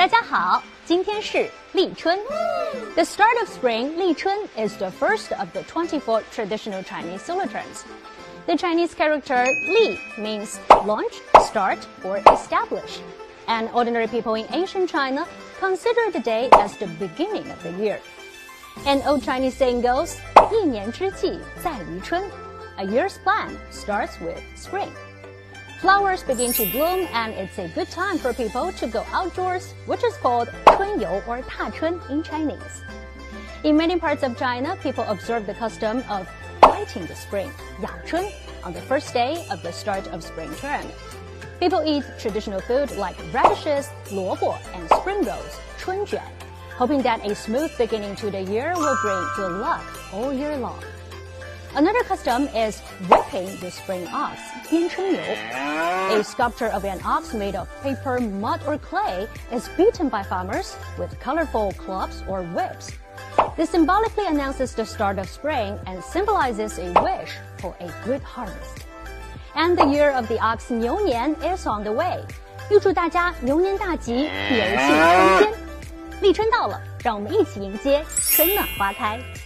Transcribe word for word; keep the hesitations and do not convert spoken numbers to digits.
大家好，今天是立春。The start of spring, 立春 is the first of the twenty-four traditional Chinese solar terms. The Chinese character 立 means launch, start, or establish. And ordinary people in ancient China consider the day as the beginning of the year. An old Chinese saying goes, 一年之计在于春. A year's plan starts with spring. Flowers begin to bloom and it's a good time for people to go outdoors, which is called 春游 or 踏春 in Chinese. In many parts of China, people observe the custom of fighting the spring, 养春, on the first day of the start of spring term. People eat traditional food like radishes, 萝卜, and spring rolls, 春卷, hoping that a smooth beginning to the year will bring good luck all year long. Another custom is whipping the spring ox, 鞭春游. A sculpture of an ox made of paper, mud, or clay is beaten by farmers with colorful clubs or whips. This symbolically announces the start of spring and symbolizes a wish for a good harvest. And the year of the ox 牛年 is on the way. 预祝大家牛年大吉，牛气冲天。立春到了，让我们一起迎接春暖花开。